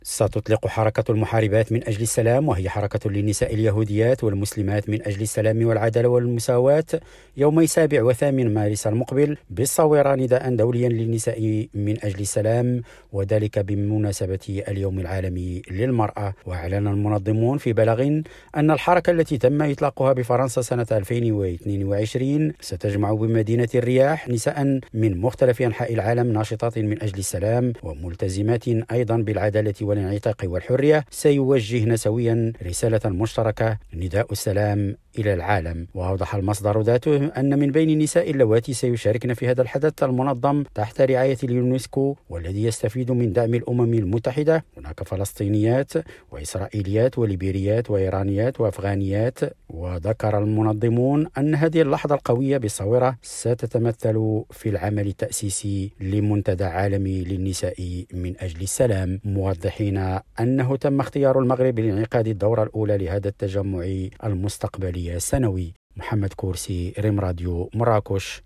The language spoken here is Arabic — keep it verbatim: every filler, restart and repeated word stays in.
ستطلق حركة المحاربات من أجل السلام، وهي حركة للنساء اليهوديات والمسلمات من أجل السلام والعدالة والمساواة، يومي سابع وثامن مارس المقبل بالصويرة نداء دوليا للنساء من أجل السلام، وذلك بمناسبة اليوم العالمي للمرأة. وأعلن المنظمون في بلاغ أن الحركة التي تم إطلاقها بفرنسا سنة ألفين واثنين وعشرين ستجمع بمدينة الرياح نساء من مختلف أنحاء العالم ناشطات من أجل السلام وملتزمات أيضا بالعدالة والانعتاق والحرية، سيوجهن سويا رسالة مشتركة نداء السلام إلى العالم. وأوضح المصدر ذاته أن من بين النساء اللواتي سيشاركن في هذا الحدث المنظم تحت رعاية اليونسكو والذي يستفيد من دعم الأمم المتحدة، هناك فلسطينيات وإسرائيليات وليبيريات وإيرانيات وأفغانيات. وذكر المنظمون أن هذه اللحظة القوية بالصويرة ستتمثل في العمل التأسيسي لمنتدى عالمي للنساء من أجل السلام، موضحين أنه تم اختيار المغرب لانعقاد الدورة الأولى لهذا التجمع المستقبلي السنوي. محمد كورسي، ريم راديو، مراكش.